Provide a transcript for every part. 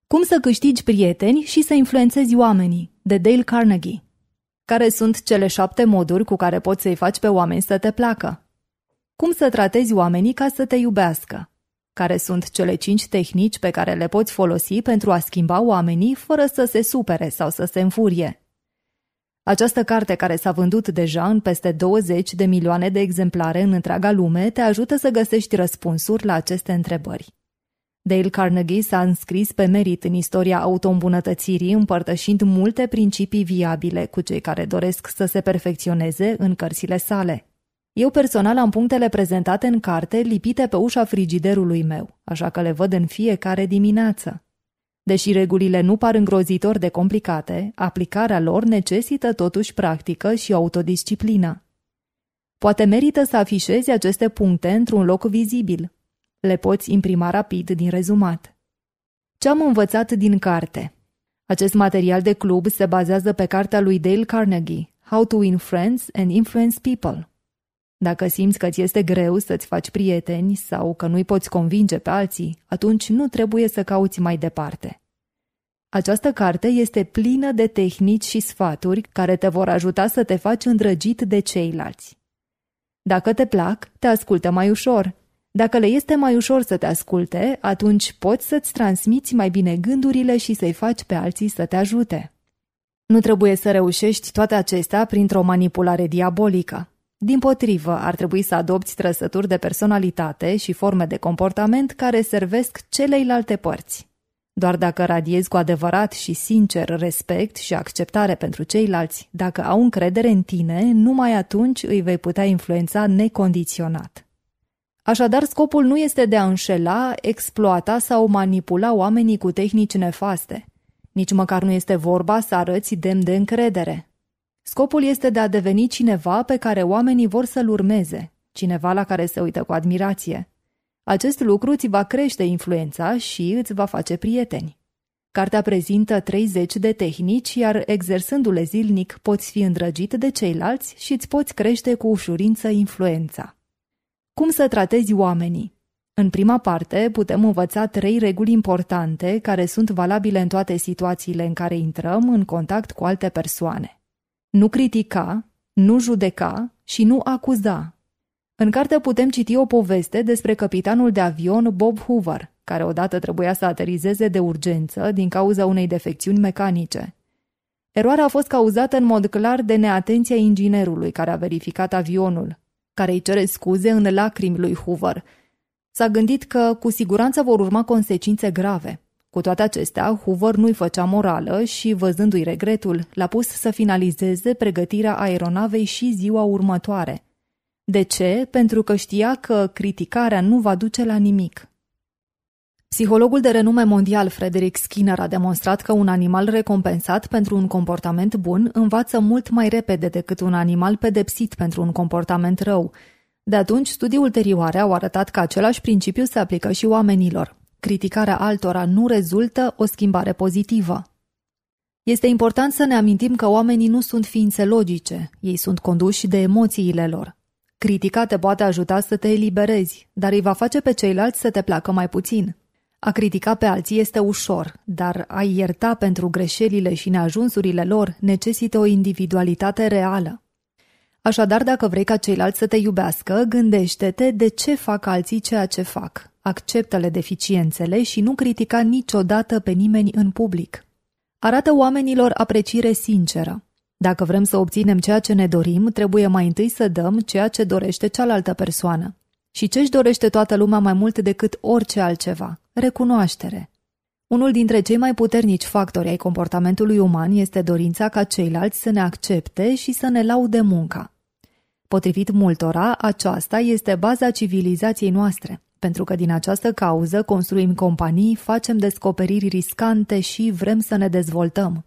Cum să câștigi prieteni și să influențezi oamenii, de Dale Carnegie. Care sunt cele 7 moduri cu care poți să-i faci pe oameni să te placă? Cum să tratezi oamenii ca să te iubească? Care sunt cele 5 tehnici pe care le poți folosi pentru a schimba oamenii fără să se supere sau să se înfurie? Această carte, care s-a vândut deja în peste 20 de milioane de exemplare în întreaga lume, te ajută să găsești răspunsuri la aceste întrebări. Dale Carnegie s-a înscris pe merit în istoria autoîmbunătățirii, împărtășind multe principii viabile cu cei care doresc să se perfecționeze în cărțile sale. Eu personal am punctele prezentate în carte lipite pe ușa frigiderului meu, așa că le văd în fiecare dimineață. Deși regulile nu par îngrozitor de complicate, aplicarea lor necesită totuși practică și autodisciplină. Poate merită să afișezi aceste puncte într-un loc vizibil. Le poți imprima rapid din rezumat. Ce am învățat din carte? Acest material de club se bazează pe cartea lui Dale Carnegie, How to Win Friends and Influence People. Dacă simți că ți este greu să-ți faci prieteni sau că nu-i poți convinge pe alții, atunci nu trebuie să cauți mai departe. Această carte este plină de tehnici și sfaturi care te vor ajuta să te faci îndrăgit de ceilalți. Dacă te plac, te ascultă mai ușor. Dacă le este mai ușor să te asculte, atunci poți să-ți transmiți mai bine gândurile și să-i faci pe alții să te ajute. Nu trebuie să reușești toate acestea printr-o manipulare diabolică. Dimpotrivă, ar trebui să adopți trăsături de personalitate și forme de comportament care servesc celeilalte părți. Doar dacă radiezi cu adevărat și sincer respect și acceptare pentru ceilalți, dacă au încredere în tine, numai atunci îi vei putea influența necondiționat. Așadar, scopul nu este de a înșela, exploata sau manipula oamenii cu tehnici nefaste. Nici măcar nu este vorba să arăți demn de încredere. Scopul este de a deveni cineva pe care oamenii vor să-l urmeze, cineva la care se uită cu admirație. Acest lucru ți va crește influența și îți va face prieteni. Cartea prezintă 30 de tehnici, iar exersându-le zilnic poți fi îndrăgit de ceilalți și îți poți crește cu ușurință influența. Cum să tratezi oamenii? În prima parte putem învăța 3 reguli importante care sunt valabile în toate situațiile în care intrăm în contact cu alte persoane. Nu critica, nu judeca și nu acuza. În carte putem citi o poveste despre capitanul de avion Bob Hoover, care odată trebuia să aterizeze de urgență din cauza unei defecțiuni mecanice. Eroarea a fost cauzată în mod clar de neatenția inginerului care a verificat avionul, care îi cere scuze în lacrimi lui Hoover. S-a gândit că cu siguranță vor urma consecințe grave. Cu toate acestea, Hoover nu-i făcea morală și, văzându-i regretul, l-a pus să finalizeze pregătirea aeronavei și ziua următoare. De ce? Pentru că știa că criticarea nu va duce la nimic. Psihologul de renume mondial Frederick Skinner a demonstrat că un animal recompensat pentru un comportament bun învață mult mai repede decât un animal pedepsit pentru un comportament rău. De atunci, studii ulterioare au arătat că același principiu se aplică și oamenilor. Criticarea altora nu rezultă o schimbare pozitivă. Este important să ne amintim că oamenii nu sunt ființe logice, ei sunt conduși de emoțiile lor. Critica te poate ajuta să te eliberezi, dar îi va face pe ceilalți să te placă mai puțin. A critica pe alții este ușor, dar a-i ierta pentru greșelile și neajunsurile lor necesită o individualitate reală. Așadar, dacă vrei ca ceilalți să te iubească, gândește-te de ce fac alții ceea ce fac. Acceptă-le deficiențele și nu critica niciodată pe nimeni în public. Arată oamenilor apreciere sinceră. Dacă vrem să obținem ceea ce ne dorim, trebuie mai întâi să dăm ceea ce dorește cealaltă persoană. Și ce-și dorește toată lumea mai mult decât orice altceva? Recunoaștere. Unul dintre cei mai puternici factori ai comportamentului uman este dorința ca ceilalți să ne accepte și să ne laude munca. Potrivit multora, aceasta este baza civilizației noastre, pentru că din această cauză construim companii, facem descoperiri riscante și vrem să ne dezvoltăm.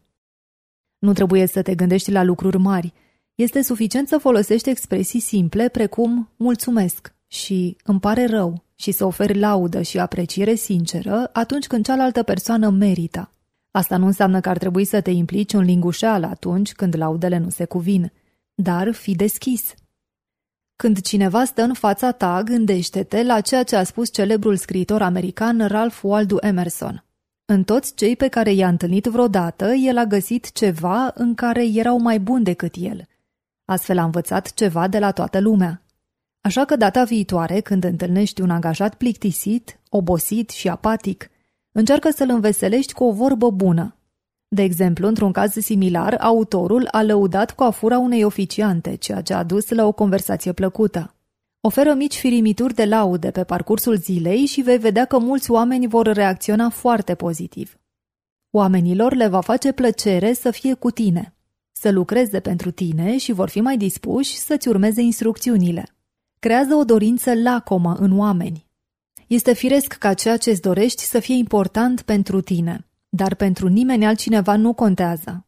Nu trebuie să te gândești la lucruri mari. Este suficient să folosești expresii simple precum mulțumesc și îmi pare rău și să oferi laudă și apreciere sinceră atunci când cealaltă persoană merită. Asta nu înseamnă că ar trebui să te implici în lingușeală atunci când laudele nu se cuvin, dar fii deschis. Când cineva stă în fața ta, gândește-te la ceea ce a spus celebrul scriitor american Ralph Waldo Emerson. În toți cei pe care i-a întâlnit vreodată, el a găsit ceva în care erau mai buni decât el. Astfel a învățat ceva de la toată lumea. Așa că data viitoare, când întâlnești un angajat plictisit, obosit și apatic, încearcă să-l înveselești cu o vorbă bună. De exemplu, într-un caz similar, autorul a lăudat coafura unei oficiante, ceea ce a dus la o conversație plăcută. Oferă mici firimituri de laude pe parcursul zilei și vei vedea că mulți oameni vor reacționa foarte pozitiv. Oamenilor le va face plăcere să fie cu tine, să lucreze pentru tine și vor fi mai dispuși să-ți urmeze instrucțiunile. Creează o dorință lacomă în oameni. Este firesc ca ceea ce îți dorești să fie important pentru tine, dar pentru nimeni altcineva nu contează.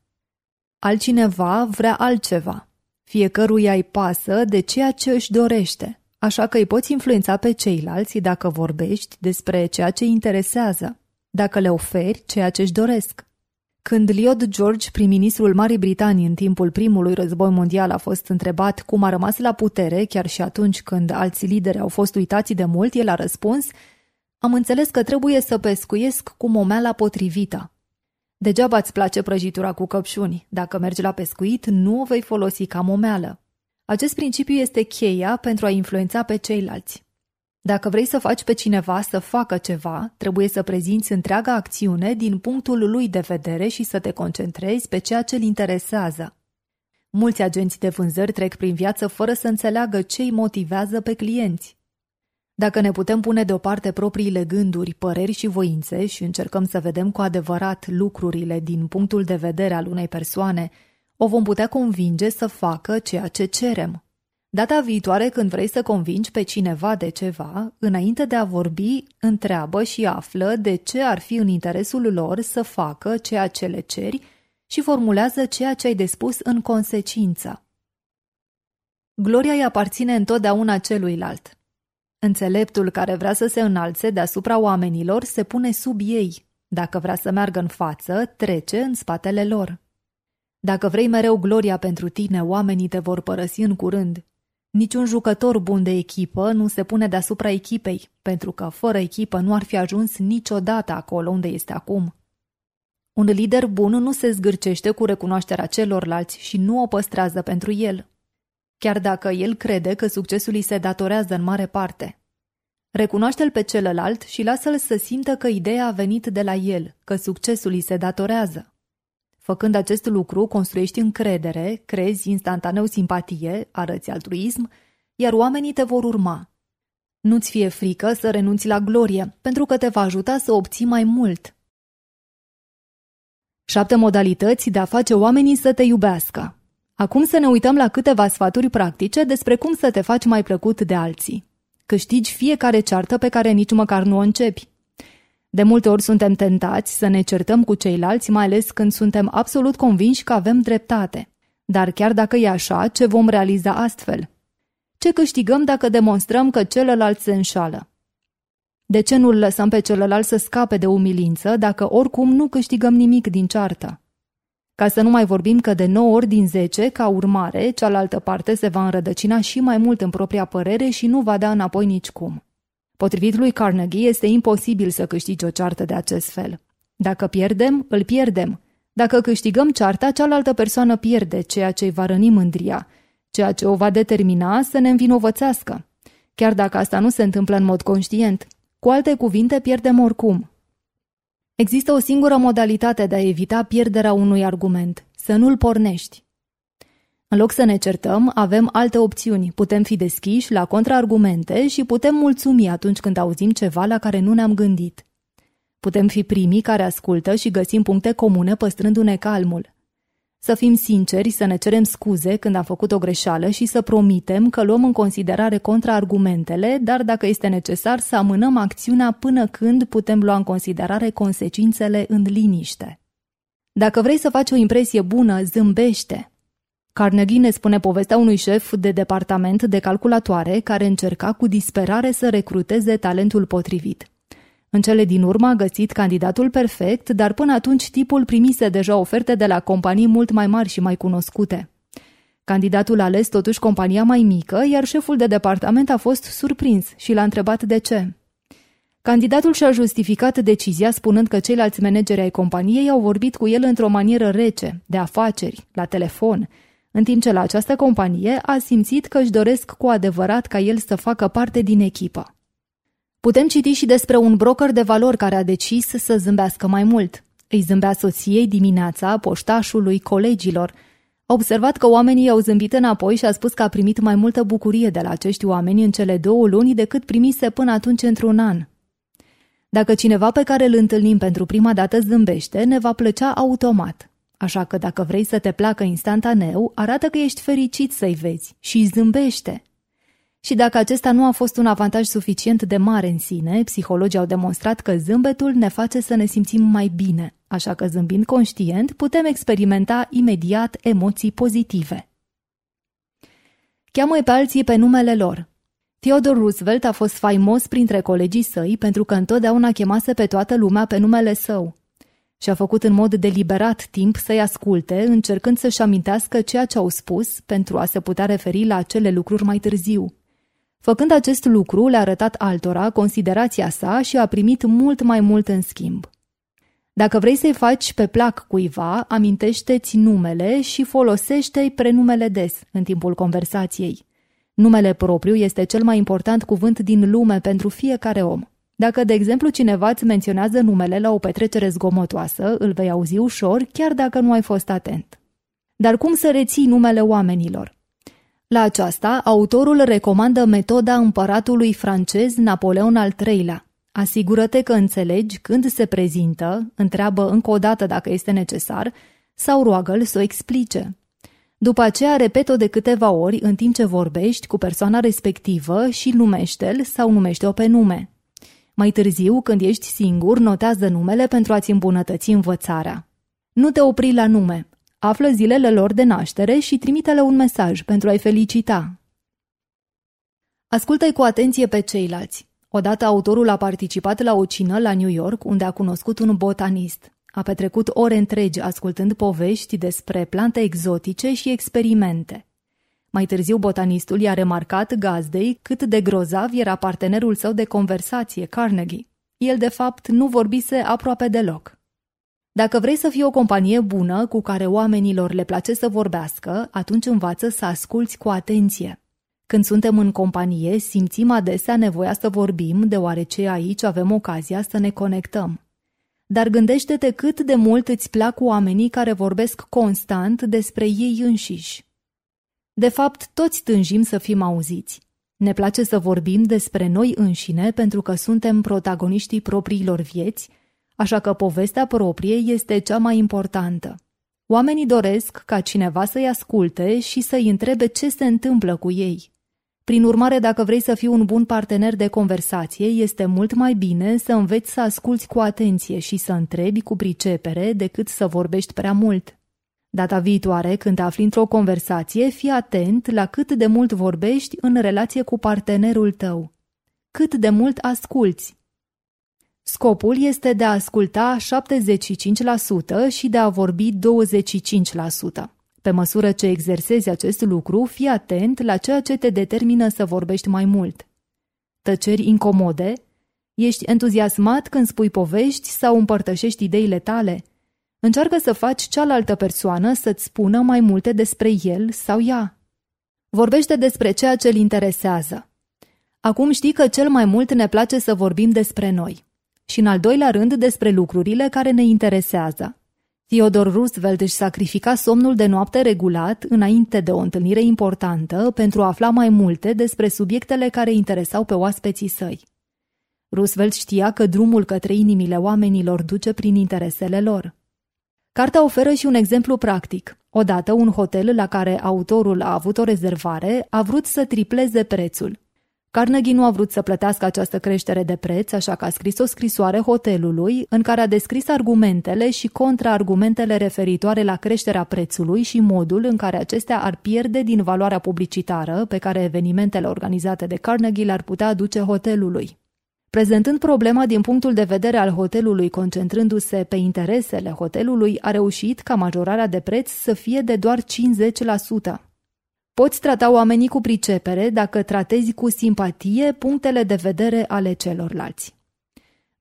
Altcineva vrea altceva. Fiecăruia îi pasă de ceea ce își dorește, așa că îi poți influența pe ceilalți dacă vorbești despre ceea ce îi interesează, dacă le oferi ceea ce își doresc. Când Lloyd George, prim-ministrul Marii Britanii în timpul primului război mondial, a fost întrebat cum a rămas la putere, chiar și atunci când alți lideri au fost uitați de mult, el a răspuns: "Am înțeles că trebuie să pescuiesc cu momeala potrivită." Degeaba îți place prăjitura cu căpșuni. Dacă mergi la pescuit, nu o vei folosi ca momeală. Acest principiu este cheia pentru a influența pe ceilalți. Dacă vrei să faci pe cineva să facă ceva, trebuie să prezinți întreaga acțiune din punctul lui de vedere și să te concentrezi pe ceea ce îl interesează. Mulți agenți de vânzări trec prin viață fără să înțeleagă ce îi motivează pe clienți. Dacă ne putem pune deoparte propriile gânduri, păreri și voințe și încercăm să vedem cu adevărat lucrurile din punctul de vedere al unei persoane, o vom putea convinge să facă ceea ce cerem. Data viitoare, când vrei să convingi pe cineva de ceva, înainte de a vorbi, întreabă și află de ce ar fi în interesul lor să facă ceea ce le ceri și formulează ceea ce ai de spus în consecință. Gloria îi aparține întotdeauna celuilalt. Înțeleptul care vrea să se înalțe deasupra oamenilor se pune sub ei. Dacă vrea să meargă în față, trece în spatele lor. Dacă vrei mereu gloria pentru tine, oamenii te vor părăsi în curând. Niciun jucător bun de echipă nu se pune deasupra echipei, pentru că fără echipă nu ar fi ajuns niciodată acolo unde este acum. Un lider bun nu se zgârcește cu recunoașterea celorlalți și nu o păstrează pentru el, chiar dacă el crede că succesul îi se datorează în mare parte. Recunoaște-l pe celălalt și lasă-l să simtă că ideea a venit de la el, că succesul îi se datorează. Făcând acest lucru, construiești încredere, creezi instantaneu simpatie, arăți altruism, iar oamenii te vor urma. Nu-ți fie frică să renunți la glorie, pentru că te va ajuta să obții mai mult. 7 modalități de a face oamenii să te iubească. Acum să ne uităm la câteva sfaturi practice despre cum să te faci mai plăcut de alții. Câștigi fiecare ceartă pe care nici măcar nu o începi. De multe ori suntem tentați să ne certăm cu ceilalți, mai ales când suntem absolut convinși că avem dreptate. Dar chiar dacă e așa, ce vom realiza astfel? Ce câștigăm dacă demonstrăm că celălalt se înșală? De ce nu-l lăsăm pe celălalt să scape de umilință dacă oricum nu câștigăm nimic din ceartă? Ca să nu mai vorbim că de 9 ori din 10, ca urmare, cealaltă parte se va înrădăcina și mai mult în propria părere și nu va da înapoi nicicum. Potrivit lui Carnegie, este imposibil să câștigi o ceartă de acest fel. Dacă pierdem, îl pierdem. Dacă câștigăm cearta, cealaltă persoană pierde, ceea ce îi va răni mândria, ceea ce o va determina să ne învinovățească. Chiar dacă asta nu se întâmplă în mod conștient. Cu alte cuvinte, pierdem oricum. Există o singură modalitate de a evita pierderea unui argument, să nu-l pornești. În loc să ne certăm, avem alte opțiuni. Putem fi deschiși la contraargumente și putem mulțumi atunci când auzim ceva la care nu ne-am gândit. Putem fi primii care ascultă și găsim puncte comune păstrându-ne calmul. Să fim sinceri, să ne cerem scuze când am făcut o greșeală și să promitem că luăm în considerare contraargumentele, dar dacă este necesar să amânăm acțiunea până când putem lua în considerare consecințele în liniște. Dacă vrei să faci o impresie bună, zâmbește. Carnegie ne spune povestea unui șef de departament de calculatoare care încerca cu disperare să recruteze talentul potrivit. În cele din urmă a găsit candidatul perfect, dar până atunci tipul primise deja oferte de la companii mult mai mari și mai cunoscute. Candidatul a ales totuși compania mai mică, iar șeful de departament a fost surprins și l-a întrebat de ce. Candidatul și-a justificat decizia spunând că ceilalți manageri ai companiei au vorbit cu el într-o manieră rece, de afaceri, la telefon, în timp ce la această companie a simțit că își doresc cu adevărat ca el să facă parte din echipă. Putem citi și despre un broker de valori care a decis să zâmbească mai mult. Îi zâmbea soției dimineața, poștașului, colegilor. A observat că oamenii i-au zâmbit înapoi și a spus că a primit mai multă bucurie de la acești oameni în cele 2 luni decât primise până atunci într-un an. Dacă cineva pe care îl întâlnim pentru prima dată zâmbește, ne va plăcea automat. Așa că dacă vrei să te placă instantaneu, arată că ești fericit să-i vezi și zâmbește. Și dacă acesta nu a fost un avantaj suficient de mare în sine, psihologii au demonstrat că zâmbetul ne face să ne simțim mai bine, așa că zâmbind conștient putem experimenta imediat emoții pozitive. Cheamă-i pe alții pe numele lor. Theodore Roosevelt a fost faimos printre colegii săi pentru că întotdeauna chemase pe toată lumea pe numele său. Și-a făcut în mod deliberat timp să-i asculte, încercând să-și amintească ceea ce au spus pentru a se putea referi la acele lucruri mai târziu. Făcând acest lucru, le-a arătat altora considerația sa și a primit mult mai mult în schimb. Dacă vrei să-i faci pe plac cuiva, amintește-ți numele și folosește-i prenumele des în timpul conversației. Numele propriu este cel mai important cuvânt din lume pentru fiecare om. Dacă, de exemplu, cineva îți menționează numele la o petrecere zgomotoasă, îl vei auzi ușor, chiar dacă nu ai fost atent. Dar cum să reții numele oamenilor? La aceasta, autorul recomandă metoda împăratului francez Napoleon al III-lea. Asigură-te că înțelegi când se prezintă, întreabă încă o dată dacă este necesar, sau roagă-l să o explice. După aceea, repet-o de câteva ori în timp ce vorbești cu persoana respectivă și numește-l sau numește-o pe nume. Mai târziu, când ești singur, notează numele pentru a-ți îmbunătăți învățarea. Nu te opri la nume. Află zilele lor de naștere și trimite-le un mesaj pentru a-i felicita. Ascultă-i cu atenție pe ceilalți. Odată autorul a participat la o cină la New York, unde a cunoscut un botanist. A petrecut ore întregi ascultând povești despre plante exotice și experimente. Mai târziu, botanistul i-a remarcat gazdei cât de grozav era partenerul său de conversație, Carnegie. El, de fapt, nu vorbise aproape deloc. Dacă vrei să fii o companie bună cu care oamenilor le place să vorbească, atunci învață să asculți cu atenție. Când suntem în companie, simțim adesea nevoia să vorbim, deoarece aici avem ocazia să ne conectăm. Dar gândește-te cât de mult îți plac oamenii care vorbesc constant despre ei înșiși. De fapt, toți tânjim să fim auziți. Ne place să vorbim despre noi înșine pentru că suntem protagoniștii propriilor vieți, așa că povestea proprie este cea mai importantă. Oamenii doresc ca cineva să-i asculte și să-i întrebe ce se întâmplă cu ei. Prin urmare, dacă vrei să fii un bun partener de conversație, este mult mai bine să înveți să asculți cu atenție și să întrebi cu pricepere decât să vorbești prea mult. Data viitoare, când te afli într-o conversație, fii atent la cât de mult vorbești în relație cu partenerul tău. Cât de mult asculți. Scopul este de a asculta 75% și de a vorbi 25%. Pe măsură ce exersezi acest lucru, fii atent la ceea ce te determină să vorbești mai mult. Tăceri incomode? Ești entuziasmat când spui povești sau împărtășești ideile tale? Încearcă să faci cealaltă persoană să-ți spună mai multe despre el sau ea. Vorbește despre ceea ce îl interesează. Acum știi că cel mai mult ne place să vorbim despre noi. Și în al doilea rând despre lucrurile care ne interesează. Theodore Roosevelt își sacrifica somnul de noapte regulat înainte de o întâlnire importantă pentru a afla mai multe despre subiectele care interesau pe oaspeții săi. Roosevelt știa că drumul către inimile oamenilor duce prin interesele lor. Cartea oferă și un exemplu practic. Odată, un hotel la care autorul a avut o rezervare a vrut să tripleze prețul. Carnegie nu a vrut să plătească această creștere de preț, așa că a scris o scrisoare hotelului în care a descris argumentele și contraargumentele referitoare la creșterea prețului și modul în care acestea ar pierde din valoarea publicitară pe care evenimentele organizate de Carnegie le-ar putea aduce hotelului. Prezentând problema din punctul de vedere al hotelului, concentrându-se pe interesele hotelului, a reușit ca majorarea de preț să fie de doar 50%. Poți trata oamenii cu pricepere dacă tratezi cu simpatie punctele de vedere ale celorlalți.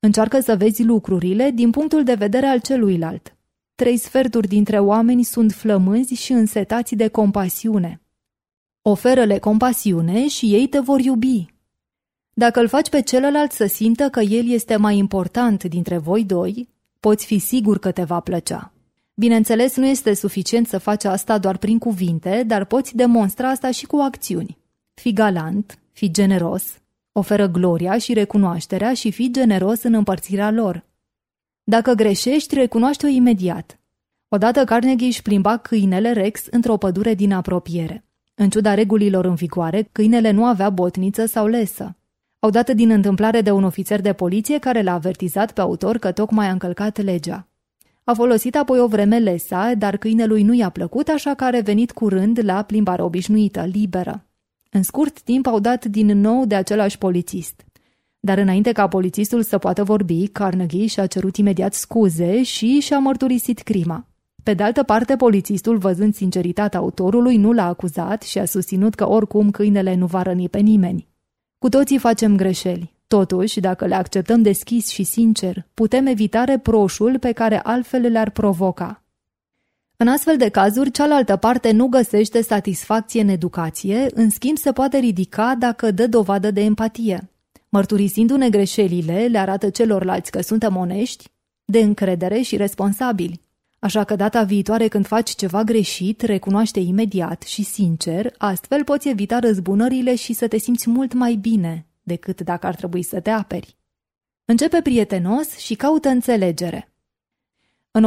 Încearcă să vezi lucrurile din punctul de vedere al celuilalt. 3/4 dintre oameni sunt flămânzi și însetați de compasiune. Oferă-le compasiune și ei te vor iubi. Dacă îl faci pe celălalt să simtă că el este mai important dintre voi doi, poți fi sigur că te va plăcea. Bineînțeles, nu este suficient să faci asta doar prin cuvinte, dar poți demonstra asta și cu acțiuni. Fii galant, fii generos, oferă gloria și recunoașterea și fii generos în împărțirea lor. Dacă greșești, recunoaște-o imediat. Odată Carnegie își plimba câinele Rex într-o pădure din apropiere. În ciuda regulilor în vigoare, câinele nu avea botniță sau lesă. Au dat din întâmplare de un ofițer de poliție care l-a avertizat pe autor că tocmai a încălcat legea. A folosit apoi o vreme lesa, dar câinelui nu i-a plăcut, așa că a revenit curând la plimbare obișnuită, liberă. În scurt timp au dat din nou de același polițist. Dar înainte ca polițistul să poată vorbi, Carnegie și-a cerut imediat scuze și și-a mărturisit crima. Pe de altă parte, polițistul, văzând sinceritatea autorului, nu l-a acuzat și a susținut că oricum câinele nu va răni pe nimeni. Cu toții facem greșeli. Totuși, dacă le acceptăm deschis și sincer, putem evita reproșul pe care altfel le-ar provoca. În astfel de cazuri, cealaltă parte nu găsește satisfacție în educație, în schimb se poate ridica dacă dă dovadă de empatie. Mărturisindu-ne greșelile, le arată celorlalți că suntem onești, de încredere și responsabili. Așa că data viitoare când faci ceva greșit, recunoaște imediat și sincer, astfel poți evita răzbunările și să te simți mult mai bine decât dacă ar trebui să te aperi. Începe prietenos și caută înțelegere. În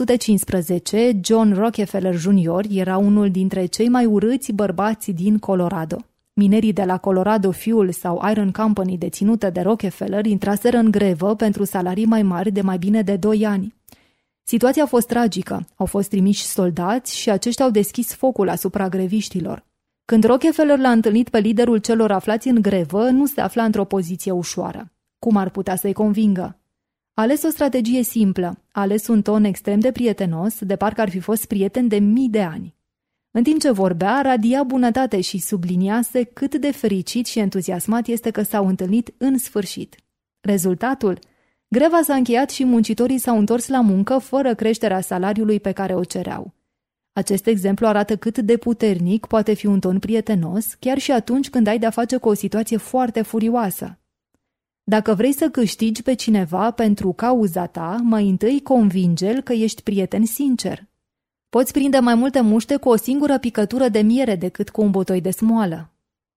1915, John Rockefeller Jr. era unul dintre cei mai urâți bărbați din Colorado. Minerii de la Colorado Fuel sau Iron Company deținută de Rockefeller intraseră în grevă pentru salarii mai mari de mai bine de 2 ani. Situația a fost tragică, au fost trimiși soldați și aceștia au deschis focul asupra greviștilor. Când Rockefeller l-a întâlnit pe liderul celor aflați în grevă, nu se afla într-o poziție ușoară. Cum ar putea să-i convingă? A ales o strategie simplă, a ales un ton extrem de prietenos, de parcă ar fi fost prieten de mii de ani. În timp ce vorbea, radia bunătate și subliniase cât de fericit și entuziasmat este că s-au întâlnit în sfârșit. Rezultatul? Greva s-a încheiat și muncitorii s-au întors la muncă fără creșterea salariului pe care o cereau. Acest exemplu arată cât de puternic poate fi un ton prietenos, chiar și atunci când ai de-a face cu o situație foarte furioasă. Dacă vrei să câștigi pe cineva pentru cauza ta, mai întâi convinge-l că ești prieten sincer. Poți prinde mai multe muște cu o singură picătură de miere decât cu un botoi de smoală.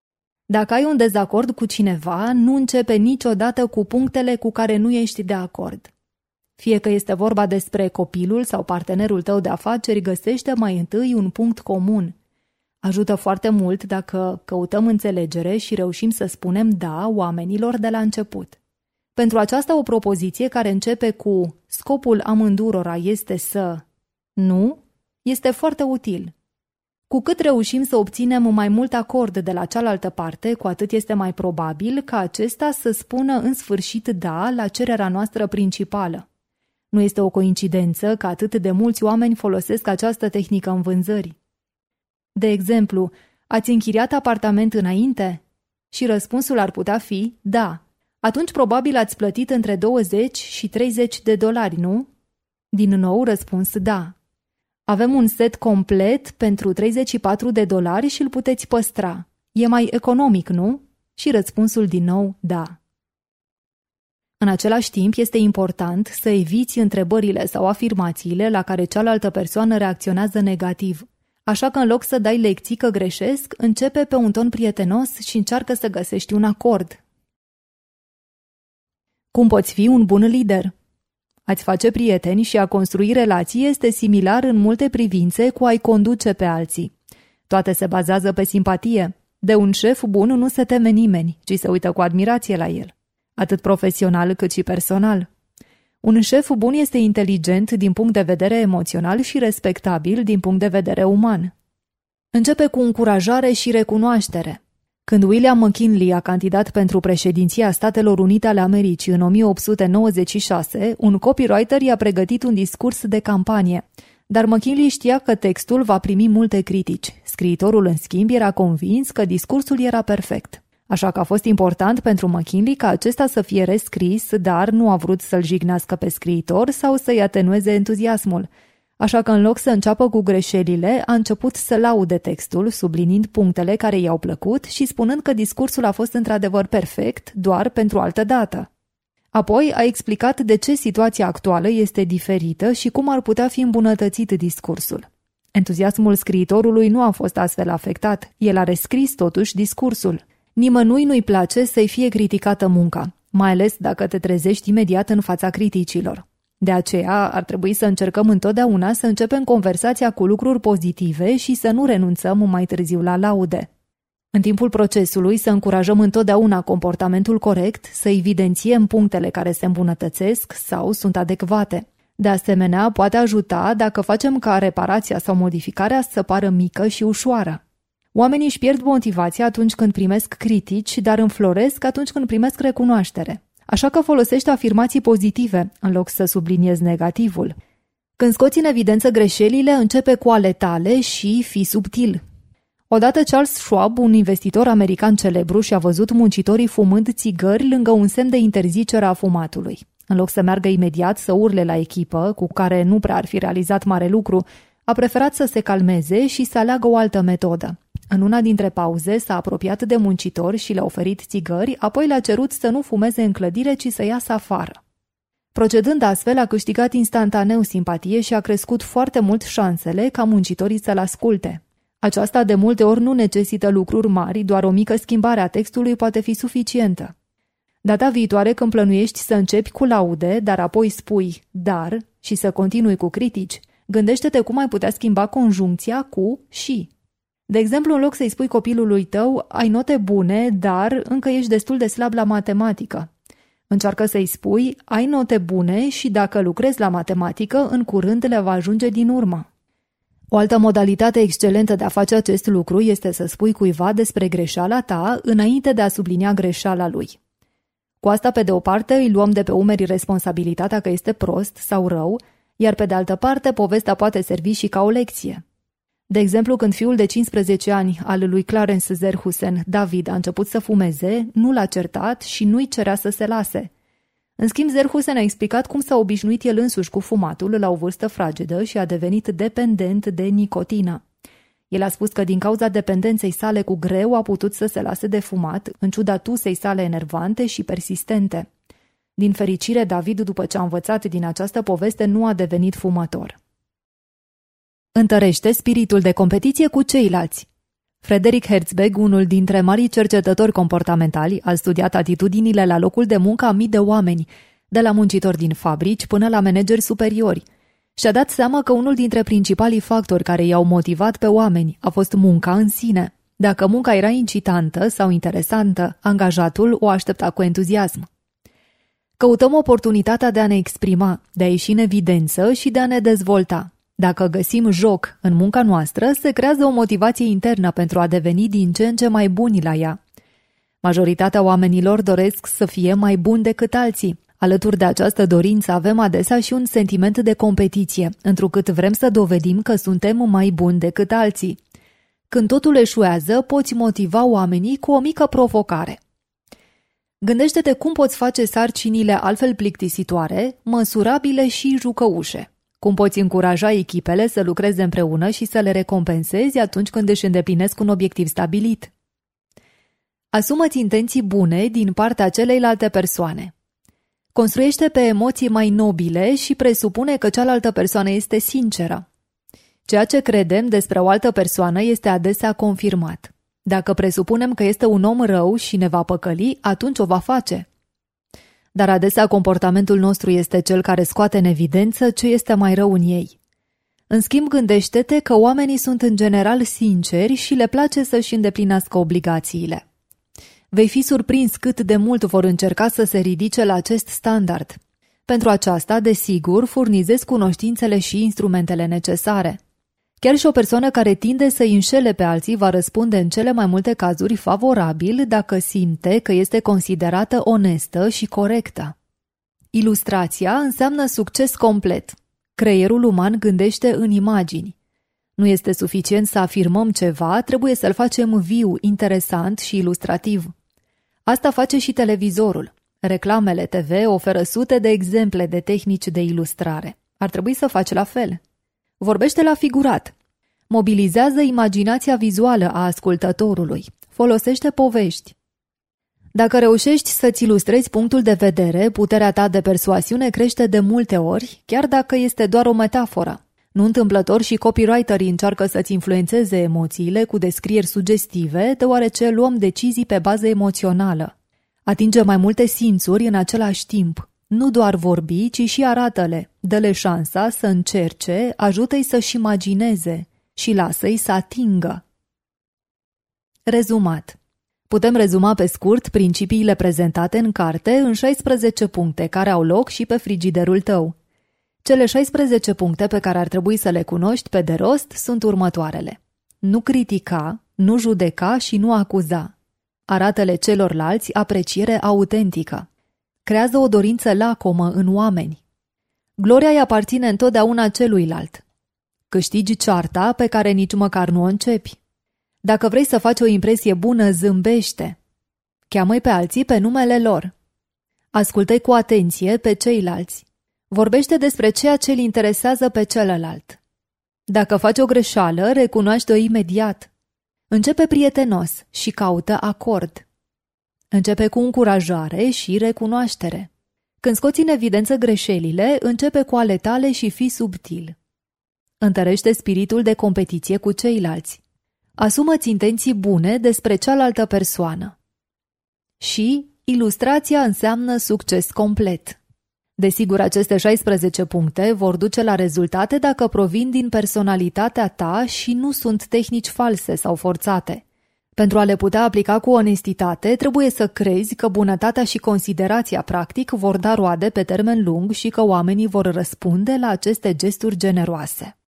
Dacă ai un dezacord cu cineva, nu începe niciodată cu punctele cu care nu ești de acord. Fie că este vorba despre copilul sau partenerul tău de afaceri, găsește mai întâi un punct comun. Ajută foarte mult dacă căutăm înțelegere și reușim să spunem da oamenilor de la început. Pentru aceasta o propoziție care începe cu scopul amândurora este să nu, este foarte util. Cu cât reușim să obținem mai mult acord de la cealaltă parte, cu atât este mai probabil ca acesta să spună în sfârșit da la cererea noastră principală. Nu este o coincidență că atât de mulți oameni folosesc această tehnică în vânzări. De exemplu, ați închiriat apartament înainte? Și răspunsul ar putea fi da. Atunci probabil ați plătit între 20 și 30 de dolari, nu? Din nou răspuns da. Avem un set complet pentru 34 de dolari și îl puteți păstra. E mai economic, nu? Și răspunsul din nou da. În același timp, este important să eviți întrebările sau afirmațiile la care cealaltă persoană reacționează negativ. Așa că în loc să dai lecții că greșesc, începe pe un ton prietenos și încearcă să găsești un acord. Cum poți fi un bun lider? A-ți face prieteni și a construi relații este similar în multe privințe cu a-i conduce pe alții. Toate se bazează pe simpatie. De un șef bun nu se teme nimeni, ci se uită cu admirație la el, atât profesional cât și personal. Un șef bun este inteligent din punct de vedere emoțional și respectabil din punct de vedere uman. Începe cu încurajare și recunoaștere. Când William McKinley a candidat pentru președinția Statelor Unite ale Americii în 1896, un copywriter i-a pregătit un discurs de campanie, dar McKinley știa că textul va primi multe critici. Scriitorul, în schimb, era convins că discursul era perfect. Așa că a fost important pentru McKinley ca acesta să fie rescris, dar nu a vrut să-l jignească pe scriitor sau să-i atenueze entuziasmul. Așa că în loc să înceapă cu greșelile, a început să laude textul, subliniind punctele care i-au plăcut și spunând că discursul a fost într-adevăr perfect, doar pentru altă dată. Apoi a explicat de ce situația actuală este diferită și cum ar putea fi îmbunătățit discursul. Entuziasmul scriitorului nu a fost astfel afectat, el a rescris totuși discursul. Nimănui nu-i place să-i fie criticată munca, mai ales dacă te trezești imediat în fața criticilor. De aceea ar trebui să încercăm întotdeauna să începem conversația cu lucruri pozitive și să nu renunțăm mai târziu la laude. În timpul procesului să încurajăm întotdeauna comportamentul corect, să evidențiem punctele care se îmbunătățesc sau sunt adecvate. De asemenea, poate ajuta dacă facem ca reparația sau modificarea să pară mică și ușoară. Oamenii își pierd motivația atunci când primesc critici, dar înfloresc atunci când primesc recunoaștere. Așa că folosește afirmații pozitive, în loc să subliniezi negativul. Când scoți în evidență greșelile, începe cu ale tale și fii subtil. Odată Charles Schwab, un investitor american celebru, și-a văzut muncitorii fumând țigări lângă un semn de interzicere a fumatului. În loc să meargă imediat să urle la echipă, cu care nu prea ar fi realizat mare lucru, a preferat să se calmeze și să aleagă o altă metodă. În una dintre pauze s-a apropiat de muncitori și le-a oferit țigări, apoi le-a cerut să nu fumeze în clădire, ci să iasă afară. Procedând astfel, a câștigat instantaneu simpatie și a crescut foarte mult șansele ca muncitorii să-l asculte. Aceasta de multe ori nu necesită lucruri mari, doar o mică schimbare a textului poate fi suficientă. Data viitoare, când plănuiești să începi cu laude, dar apoi spui dar și să continui cu critici, gândește-te cum ai putea schimba conjuncția cu și. De exemplu, în loc să-i spui copilului tău, ai note bune, dar încă ești destul de slab la matematică. Încearcă să-i spui, ai note bune și dacă lucrezi la matematică, în curând le va ajunge din urmă. O altă modalitate excelentă de a face acest lucru este să spui cuiva despre greșeala ta înainte de a sublinia greșeala lui. Cu asta, pe de o parte, îi luăm de pe umeri responsabilitatea că este prost sau rău, iar pe de altă parte, povestea poate servi și ca o lecție. De exemplu, când fiul de 15 ani al lui Clarence Zerhusen, David, a început să fumeze, nu l-a certat și nu-i cerea să se lase. În schimb, Zerhusen a explicat cum s-a obișnuit el însuși cu fumatul la o vârstă fragedă și a devenit dependent de nicotină. El a spus că din cauza dependenței sale cu greu a putut să se lase de fumat, în ciuda tusei sale enervante și persistente. Din fericire, David, după ce a învățat din această poveste, nu a devenit fumător. Întărește spiritul de competiție cu ceilalți. Frederick Herzberg, unul dintre marii cercetători comportamentali, a studiat atitudinile la locul de muncă a mii de oameni, de la muncitori din fabrici până la manageri superiori. Și-a dat seama că unul dintre principalii factori care i-au motivat pe oameni a fost munca în sine. Dacă munca era incitantă sau interesantă, angajatul o aștepta cu entuziasm. Căutăm oportunitatea de a ne exprima, de a ieși în evidență și de a ne dezvolta. Dacă găsim joc în munca noastră, se creează o motivație internă pentru a deveni din ce în ce mai buni la ea. Majoritatea oamenilor doresc să fie mai buni decât alții. Alături de această dorință avem adesea și un sentiment de competiție, întrucât vrem să dovedim că suntem mai buni decât alții. Când totul eșuează, poți motiva oamenii cu o mică provocare. Gândește-te cum poți face sarcinile altfel plictisitoare, măsurabile și jucăușe. Cum poți încuraja echipele să lucreze împreună și să le recompensezi atunci când își îndeplinesc un obiectiv stabilit. Asumă-ți intenții bune din partea celeilalte persoane. Construiește pe emoții mai nobile și presupune că cealaltă persoană este sinceră. Ceea ce credem despre o altă persoană este adesea confirmat. Dacă presupunem că este un om rău și ne va păcăli, atunci o va face. Dar adesea comportamentul nostru este cel care scoate în evidență ce este mai rău în ei. În schimb, gândește-te că oamenii sunt în general sinceri și le place să-și îndeplinească obligațiile. Vei fi surprins cât de mult vor încerca să se ridice la acest standard. Pentru aceasta, desigur, furnizezi cunoștințele și instrumentele necesare. Chiar și o persoană care tinde să îi înșele pe alții va răspunde în cele mai multe cazuri favorabil dacă simte că este considerată onestă și corectă. Ilustrația înseamnă succes complet. Creierul uman gândește în imagini. Nu este suficient să afirmăm ceva, trebuie să-l facem viu, interesant și ilustrativ. Asta face și televizorul. Reclamele TV oferă sute de exemple de tehnici de ilustrare. Ar trebui să faci la fel. Vorbește la figurat. Mobilizează imaginația vizuală a ascultătorului. Folosește povești. Dacă reușești să-ți ilustrezi punctul de vedere, puterea ta de persuasiune crește de multe ori, chiar dacă este doar o metaforă. Nu întâmplător și copywriterii încearcă să-ți influențeze emoțiile cu descrieri sugestive, deoarece luăm decizii pe bază emoțională. Atinge mai multe simțuri în același timp. Nu doar vorbi, ci și arată-le. Dă-le șansa să încerce, ajută-i să-și imagineze și lasă-i să atingă. Rezumat. Putem rezuma pe scurt principiile prezentate în carte în 16 puncte care au loc și pe frigiderul tău. Cele 16 puncte pe care ar trebui să le cunoști pe de rost sunt următoarele. Nu critica, nu judeca și nu acuza. Arată-le celorlalți apreciere autentică. Creează o dorință lacomă în oameni. Gloria îi aparține întotdeauna celuilalt. Câștigi cearta pe care nici măcar nu o începi. Dacă vrei să faci o impresie bună, zâmbește. Cheamă-i pe alții pe numele lor. Ascultă-i cu atenție pe ceilalți. Vorbește despre ceea ce îl interesează pe celălalt. Dacă faci o greșeală, recunoaște-o imediat. Începe prietenos și caută acord. Începe cu încurajare și recunoaștere. Când scoți în evidență greșelile, începe cu ale tale și fii subtil. Întărește spiritul de competiție cu ceilalți. Asumă-ți intenții bune despre cealaltă persoană. Și ilustrația înseamnă succes complet. Desigur, aceste 16 puncte vor duce la rezultate dacă provin din personalitatea ta și nu sunt tehnici false sau forțate. Pentru a le putea aplica cu onestitate, trebuie să crezi că bunătatea și considerația practic vor da roade pe termen lung și că oamenii vor răspunde la aceste gesturi generoase.